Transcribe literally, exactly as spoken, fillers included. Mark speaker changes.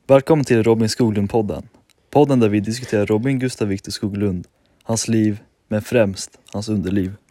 Speaker 1: Välkommen till Robin Skoglund-podden. Podden där vi diskuterar Robin Gustav Viktor Skoglund, hans liv, men främst hans underliv.